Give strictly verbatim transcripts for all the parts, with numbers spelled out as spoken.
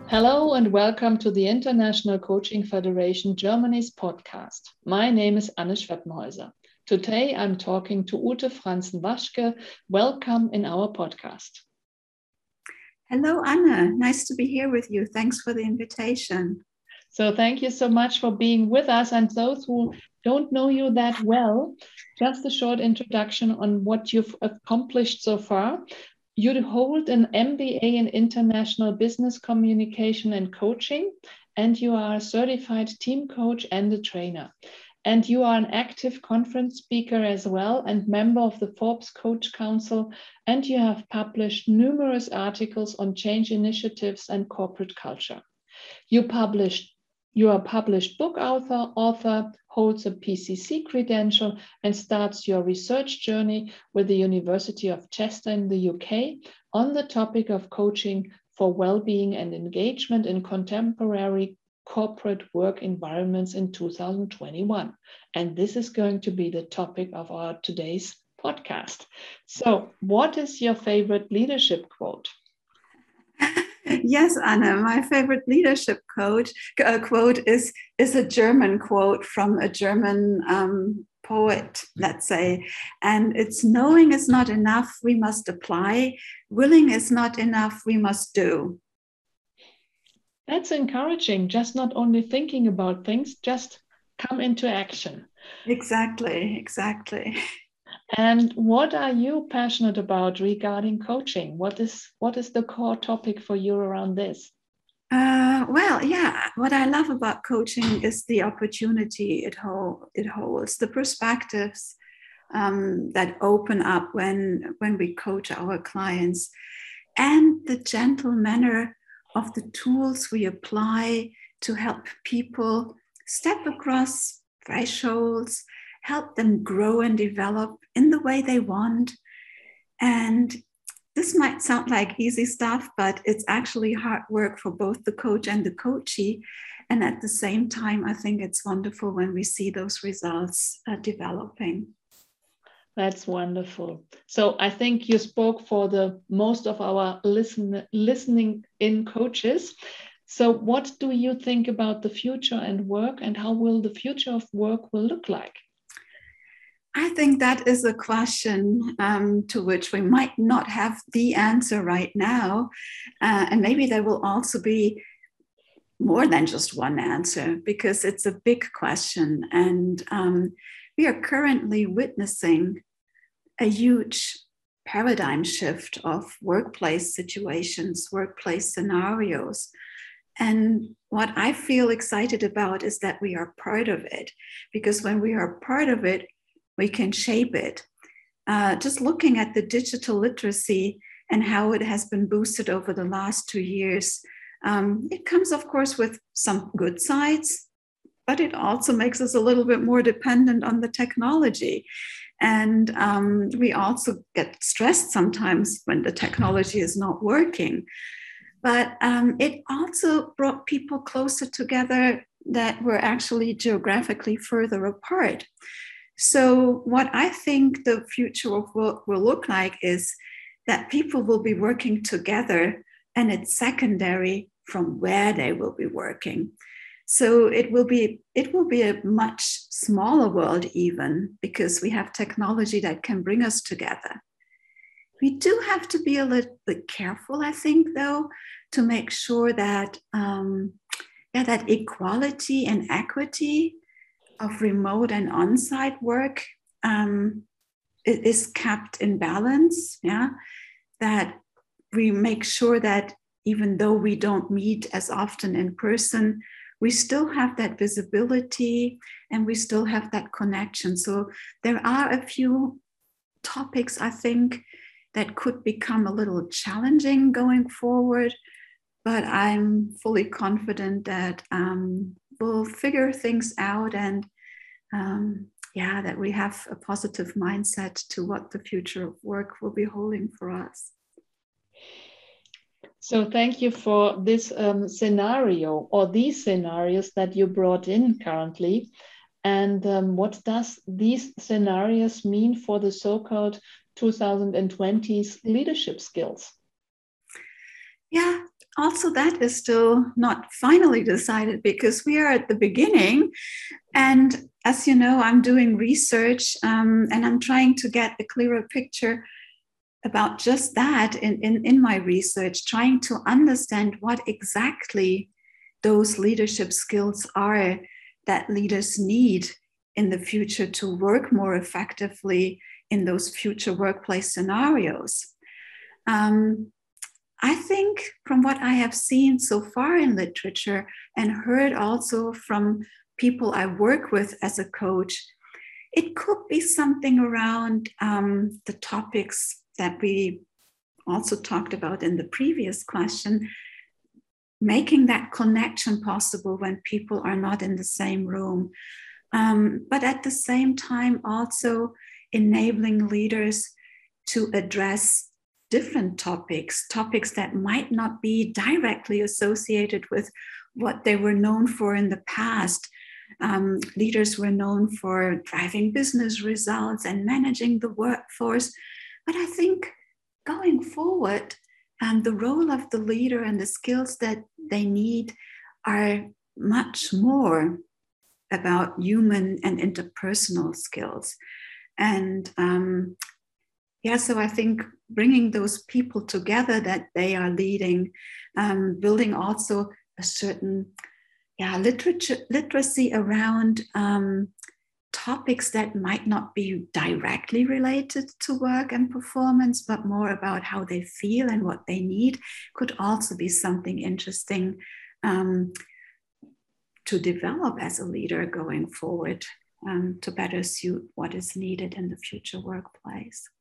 Hello and welcome to the International Coaching Federation Germany's podcast. My name is Anne Schweppenhäuser. Today I'm talking to Ute Franzen-Waschke. Welcome in our podcast. Hello, Anne. Nice to be here with you. Thanks for the invitation. So thank you so much for being with us. And those who don't know you that well, just a short introduction on what you've accomplished so far. You hold an M B A in International Business Communication and Coaching, and you are a certified team coach and a trainer. And you are an active conference speaker as well and member of the Forbes Coach Council, and you have published numerous articles on change initiatives and corporate culture. You published You are a published book author, author, holds a P C C credential, and starts your research journey with the University of Chester in the U K on the topic of coaching for well-being and engagement in contemporary corporate work environments in two thousand twenty-one. And this is going to be the topic of our today's podcast. So, what is your favorite leadership quote? Yes, Anna, my favorite leadership quote, uh, quote is, is a German quote from a German um, poet, let's say. And it's knowing is not enough, we must apply. Willing is not enough, we must do. That's encouraging, just not only thinking about things, just come into action. Exactly, exactly. And what are you passionate about regarding coaching? What is what is the core topic for you around this? Uh, well, yeah, what I love about coaching is the opportunity it, hold, it holds, the perspectives um, that open up when, when we coach our clients, and the gentle manner of the tools we apply to help people step across thresholds, help them grow and develop in the way they want. And this might sound like easy stuff, but it's actually hard work for both the coach and the coachee. And at the same time, I think it's wonderful when we see those results uh, developing. That's wonderful. So I think you spoke for the most of our listen, listening in coaches. So what do you think about the future and work, and how will the future of work will look like? I think that is a question um, to which we might not have the answer right now. Uh, and maybe there will also be more than just one answer, because it's a big question. And um, we are currently witnessing a huge paradigm shift of workplace situations, workplace scenarios. And what I feel excited about is that we are part of it, because when we are part of it, we can shape it. Uh, just looking at the digital literacy and how it has been boosted over the last two years, um, it comes, of course, with some good sides, but it also makes us a little bit more dependent on the technology. And um, we also get stressed sometimes when the technology is not working. But um, it also brought people closer together that were actually geographically further apart. So what I think the future of work will look like is that people will be working together, and it's secondary from where they will be working. So it will be it will be a much smaller world even, because we have technology that can bring us together. We do have to be a little bit careful, I think, though, to make sure that um, yeah, that equality and equity of remote and on-site work um, is kept in balance, yeah, that we make sure that even though we don't meet as often in person, we still have that visibility and we still have that connection. So there are a few topics, I think, that could become a little challenging going forward, but I'm fully confident that um, we'll figure things out, and um, yeah, that we have a positive mindset to what the future of work will be holding for us. So thank you for this um, scenario, or these scenarios that you brought in currently. And um, what does these scenarios mean for the so-called twenty twenties leadership skills? Yeah, also that is still not finally decided because we are at the beginning. And as you know, I'm doing research um, and I'm trying to get a clearer picture about just that in, in, in my research, trying to understand what exactly those leadership skills are that leaders need in the future to work more effectively in those future workplace scenarios. Um, I think from what I have seen so far in literature and heard also from people I work with as a coach, it could be something around um, the topics that we also talked about in the previous question, making that connection possible when people are not in the same room. Um, but at the same time, also enabling leaders to address different topics, topics that might not be directly associated with what they were known for in the past. Um, leaders were known for driving business results and managing the workforce. But I think going forward, um, the role of the leader and the skills that they need are much more about human and interpersonal skills. And um, yeah, so I think bringing those people together that they are leading, um, building also a certain yeah, literature, literacy around um, topics that might not be directly related to work and performance, but more about how they feel and what they need could also be something interesting um, to develop as a leader going forward um, to better suit what is needed in the future workplace.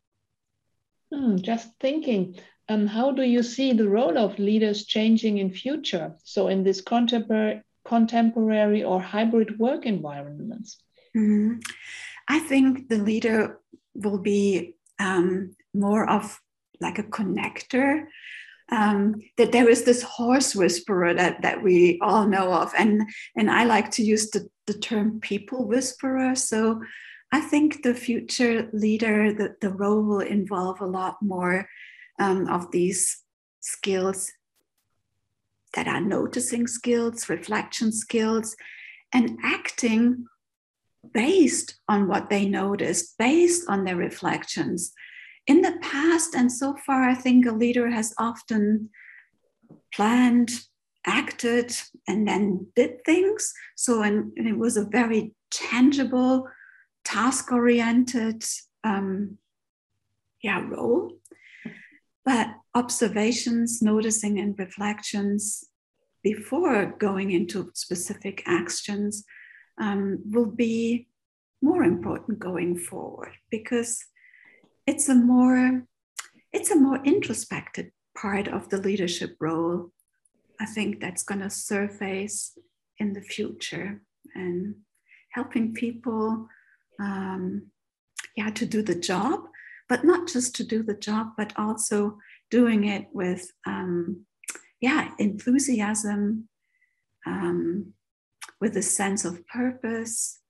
Hmm, just thinking, um, how do you see the role of leaders changing in future? So in this contemporary, contemporary or hybrid work environments? Mm-hmm. I think the leader will be um, more of like a connector. Um, that there is this horse whisperer that, that we all know of. And, and I like to use the, the term people whisperer. So I think the future leader, the, the role will involve a lot more um, of these skills that are noticing skills, reflection skills, and acting based on what they noticed, based on their reflections. In the past and so far, I think a leader has often planned, acted, and then did things. So and, and it was a very tangible, task-oriented um, yeah, role. But observations, noticing, and reflections before going into specific actions um, will be more important going forward because it's a more it's a more introspective part of the leadership role. I think that's going to surface in the future and helping people um, yeah, to do the job, but not just to do the job, but also doing it with um, yeah, enthusiasm, um, with a sense of purpose,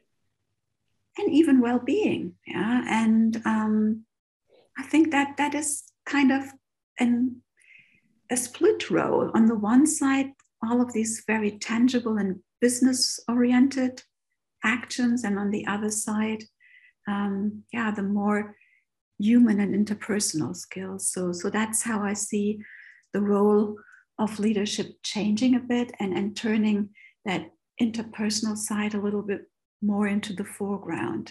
and even well-being. Yeah, and um, I think that that is kind of an, a split role. On the one side, all of these very tangible and business-oriented actions, and on the other side, um, yeah, the more human and interpersonal skills. So, so that's how I see the role of leadership changing a bit and, and turning that interpersonal side a little bit more into the foreground.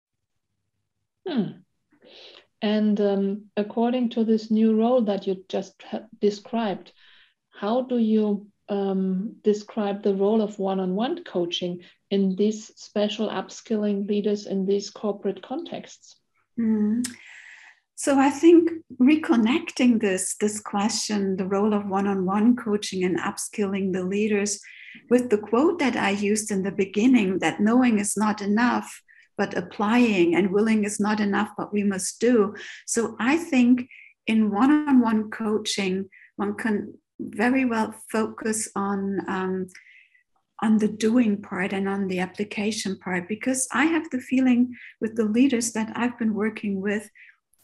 Hmm. And um, according to this new role that you just described, how do you um, describe the role of one-on-one coaching in these special upskilling leaders in these corporate contexts? Mm. So I think reconnecting this, this question, the role of one-on-one coaching and upskilling the leaders, with the quote that I used in the beginning, that knowing is not enough, but applying, and willing is not enough, but we must do. So I think in one-on-one coaching, one can very well focus on um, on the doing part and on the application part, because I have the feeling with the leaders that I've been working with,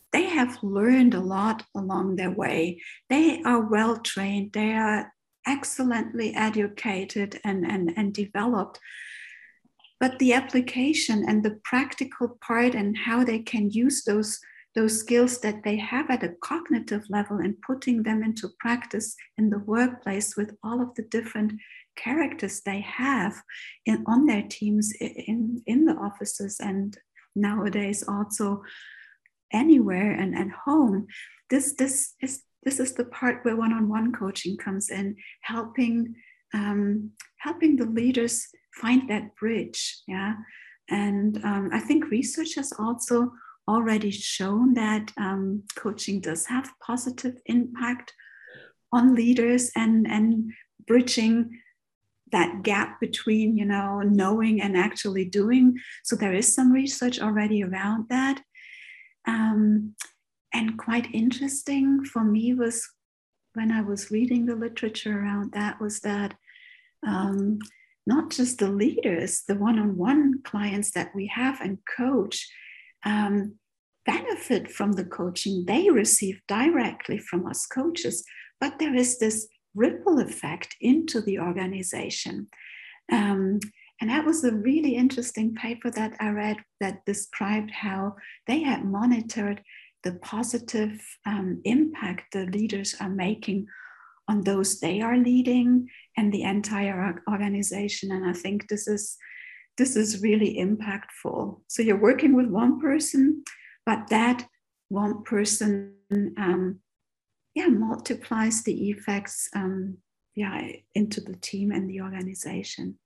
they have learned a lot along their way. They are well trained. They are excellently educated and, and, and developed. But the application and the practical part and how they can use those, those skills that they have at a cognitive level and putting them into practice in the workplace with all of the different characters they have in, on their teams in, in the offices and nowadays also anywhere and at home. This, this, is, this is the part where one-on-one coaching comes in, helping, um, helping the leaders find that bridge. Yeah. And um, I think research has also already shown that um, coaching does have positive impact on leaders and, and bridging that gap between, you know, knowing and actually doing. So there is some research already around that. Um, and quite interesting for me was when I was reading the literature around that was that um, not just the leaders, the one-on-one clients that we have and coach um, benefit from the coaching they receive directly from us coaches, but there is this ripple effect into the organization. Um, and that was a really interesting paper that I read that described how they had monitored the positive um, impact the leaders are making on those they are leading and the entire organization. And I think this is, this is really impactful. So you're working with one person, but that one person um, yeah, multiplies the effects um, yeah, into the team and the organization.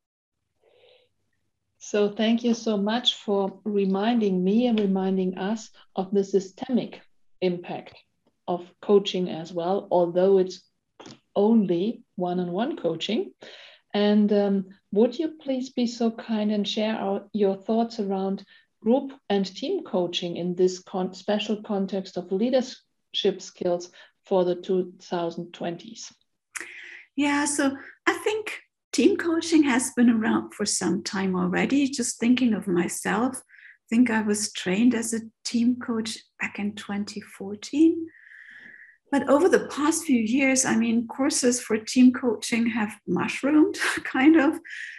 So thank you so much for reminding me and reminding us of the systemic impact of coaching as well, although it's only one-on-one coaching. And um, would you please be so kind and share our, your thoughts around group and team coaching in this con- special context of leadership skills for the two thousand twenties? Yeah, so I think team coaching has been around for some time already. Just thinking of myself, I think I was trained as a team coach back in twenty fourteen. But over the past few years, I mean, courses for team coaching have mushroomed, kind of.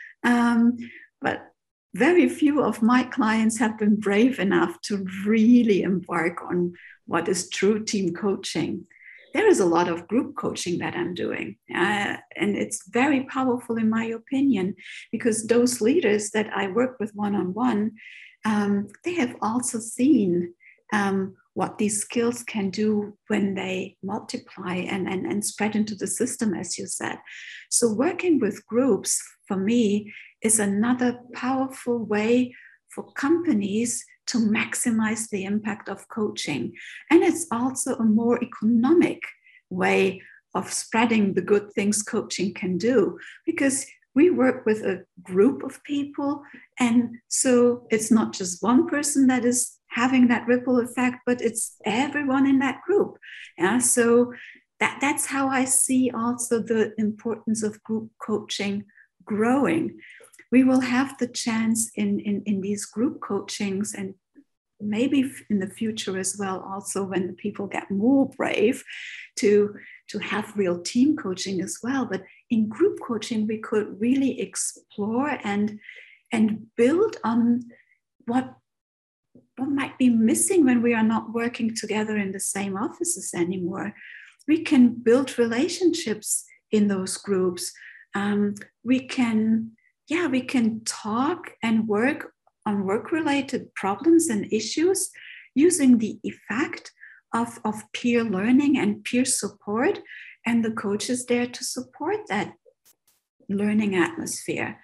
Um, but very few of my clients have been brave enough to really embark on what is true team coaching. There is a lot of group coaching that I'm doing. Uh, and it's very powerful in my opinion, because those leaders that I work with one-on-one, um, they have also seen um, what these skills can do when they multiply and, and, and spread into the system, as you said. So working with groups, for me, is another powerful way for companies to maximize the impact of coaching. And it's also a more economic way of spreading the good things coaching can do, because we work with a group of people. And so it's not just one person that is having that ripple effect, but it's everyone in that group. Yeah, so that, that's how I see also the importance of group coaching growing. We will have the chance in, in, in these group coachings, and maybe in the future as well, also when the people get more brave to, to have real team coaching as well. But in group coaching, we could really explore and, and build on what what might be missing when we are not working together in the same offices anymore. We can build relationships in those groups. Um, we can, yeah, we can talk and work on work-related problems and issues using the effect of, of peer learning and peer support, and the coach is there to support that learning atmosphere.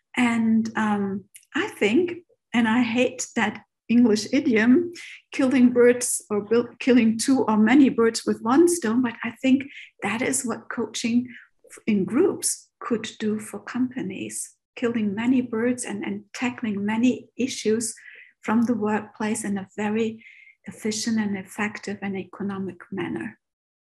And um, I think, and I hate that English idiom, killing birds or build, killing two or many birds with one stone, but I think that is what coaching in groups could do for companies, killing many birds and, and tackling many issues from the workplace in a very efficient and effective and economic manner.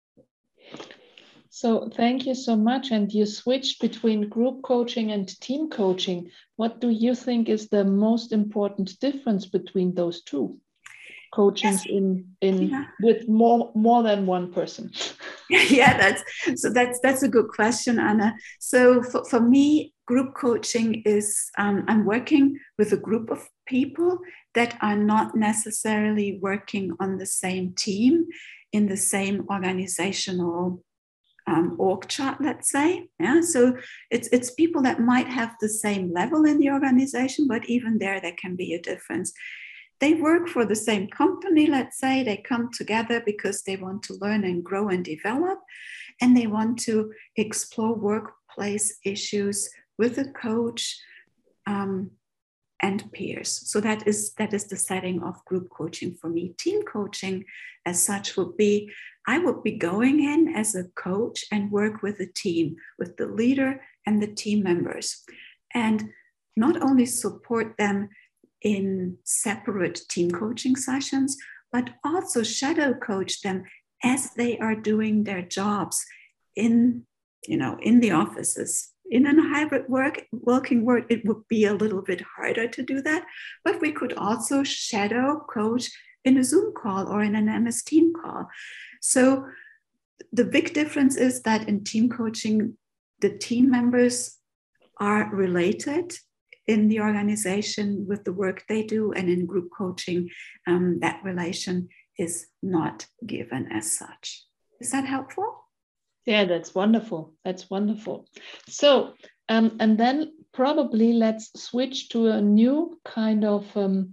So thank you so much. And you switched between group coaching and team coaching. What do you think is the most important difference between those two? coachings yes. in in Yeah. with more more than one person? Yeah, that's so that's that's a good question, Anna. So for, for me, group coaching is um, I'm working with a group of people that are not necessarily working on the same team in the same organizational um, org chart, let's say. Yeah, so it's it's people that might have the same level in the organization, but even there, there can be a difference. They work for the same company, let's say. They come together because they want to learn and grow and develop, and they want to explore workplace issues with a coach um, and peers. So that is that is the setting of group coaching for me. Team coaching as such would be, I would be going in as a coach and work with a team, with the leader and the team members, and not only support them in separate team coaching sessions, but also shadow coach them as they are doing their jobs in, you know, in the offices. In a hybrid work, working world, it would be a little bit harder to do that, but we could also shadow coach in a Zoom call or in an M S Team call. So the big difference is that in team coaching, the team members are related in the organization with the work they do, and in group coaching, um, that relation is not given as such. Is that helpful? Yeah, that's wonderful. That's wonderful. So, um, and then probably let's switch to a new kind of um,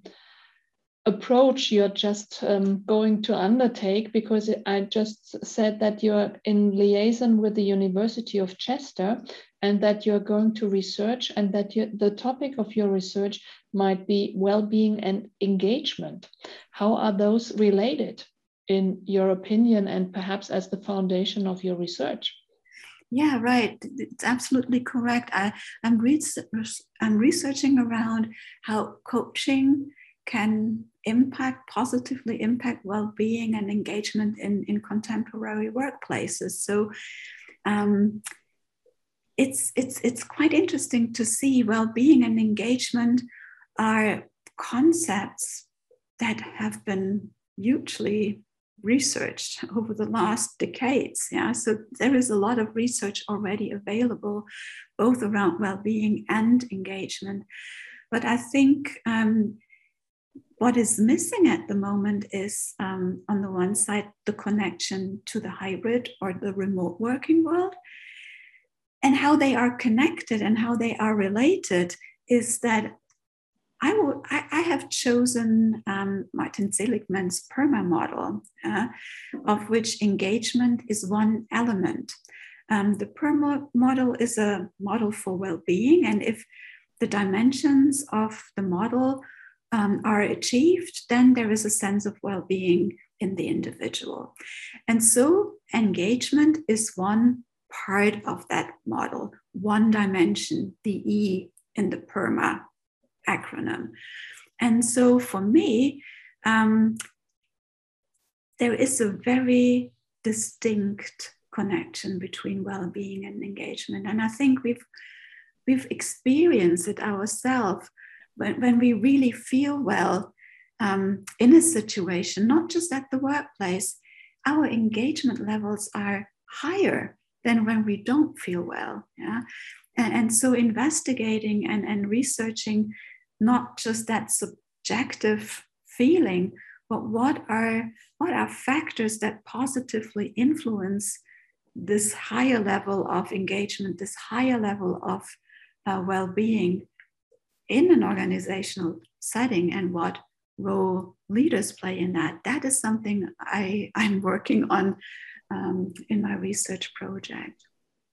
approach you're just um, going to undertake, because I just said that you're in liaison with the University of Chester and that you're going to research, and that you, the topic of your research might be well-being and engagement. How are those related, in your opinion, and perhaps as the foundation of your research? Yeah, right. It's absolutely correct. I, I'm, re- I'm researching around how coaching can impact, positively impact well-being and engagement in, in contemporary workplaces. So um, it's, it's, it's quite interesting to see well-being and engagement are concepts that have been hugely researched over the last decades. Yeah, so there is a lot of research already available, both around well-being and engagement. But I think um, what is missing at the moment is, um, on the one side, the connection to the hybrid or the remote working world, and how they are connected and how they are related is that I, will, I, I have chosen um, Martin Seligman's PERMA model, uh, of which engagement is one element. Um, the PERMA model is a model for well-being, and if the dimensions of the model um, are achieved, then there is a sense of well-being in the individual. And so engagement is one part of that model, one dimension, the E in the PERMA acronym. And so for me, um, there is a very distinct connection between well-being and engagement. And I think we've we've experienced it ourselves when, when we really feel well um, in a situation, not just at the workplace, our engagement levels are higher than when we don't feel well. Yeah? And, and so investigating and, and researching not just that subjective feeling, but what are, what are factors that positively influence this higher level of engagement, this higher level of uh, well-being in an organizational setting, and what role leaders play in that. That is something I, I'm working on um, in my research project.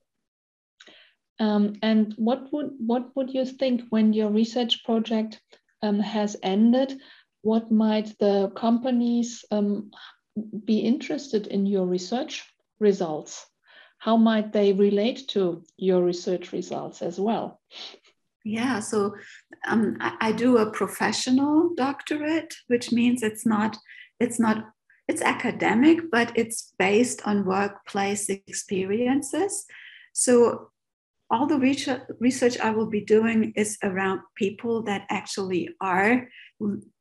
Um, and what would what would you think, when your research project um, has ended, what might the companies um, be interested in your research results? How might they relate to your research results as well? Yeah, so um, I, I do a professional doctorate, which means it's not it's not it's academic, but it's based on workplace experiences. So all the research I will be doing is around people that actually are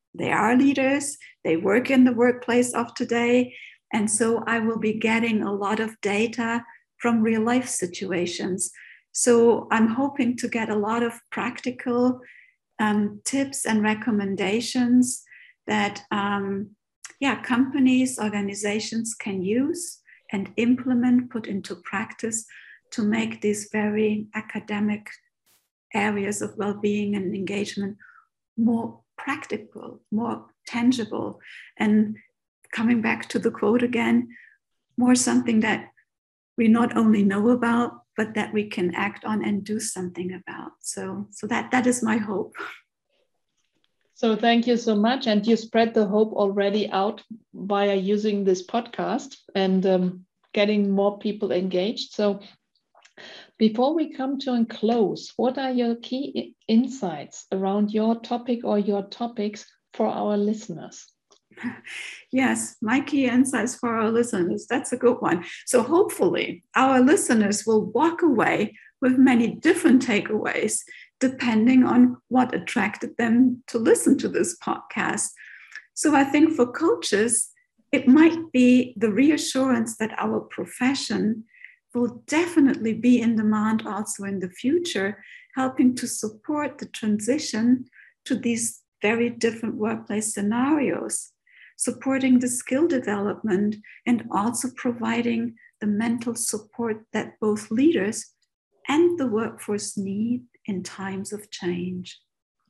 they are leaders, they work in the workplace of today. And so I will be getting a lot of data from real life situations. So I'm hoping to get a lot of practical um, tips and recommendations that um, yeah, companies, organizations can use and implement, put into practice to make these very academic areas of well-being and engagement more practical, more tangible. And coming back to the quote again, more something that we not only know about, but that we can act on and do something about. So, so that, that is my hope. So thank you so much. And you spread the hope already out via using this podcast and um, getting more people engaged. So before we come to a close, what are your key insights around your topic or your topics for our listeners? Yes, my key insights for our listeners, that's a good one. So hopefully our listeners will walk away with many different takeaways, depending on what attracted them to listen to this podcast. So I think for coaches, it might be the reassurance that our profession will definitely be in demand also in the future, helping to support the transition to these very different workplace scenarios, supporting the skill development, and also providing the mental support that both leaders and the workforce need in times of change.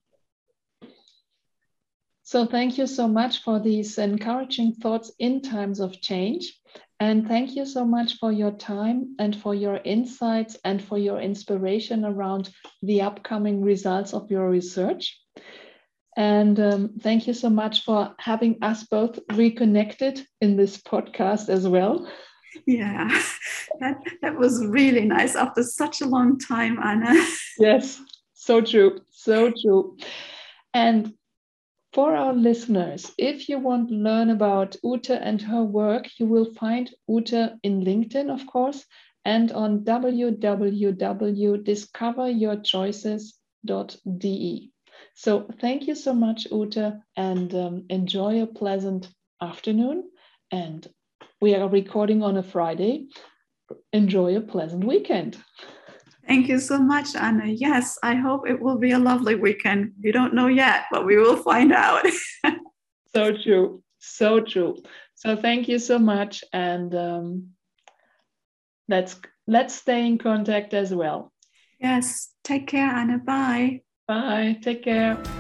So thank you so much for these encouraging thoughts in times of change. And thank you so much for your time and for your insights and for your inspiration around the upcoming results of your research. And um, thank you so much for having us both reconnected in this podcast as well. Yeah, that, that was really nice after such a long time, Anna. Yes, so true, so true. And for our listeners, if you want to learn about Ute and her work, you will find Ute in LinkedIn, of course, and on w w w dot discover your choices dot d e. So thank you so much, Ute, and um, enjoy a pleasant afternoon. And we are recording on a Friday. Enjoy a pleasant weekend. Thank you so much, Anna. Yes, I hope it will be a lovely weekend. We don't know yet, but we will find out. So true. So true. So thank you so much. And um, let's let's stay in contact as well. Yes. Take care, Anna. Bye. Bye. Take care.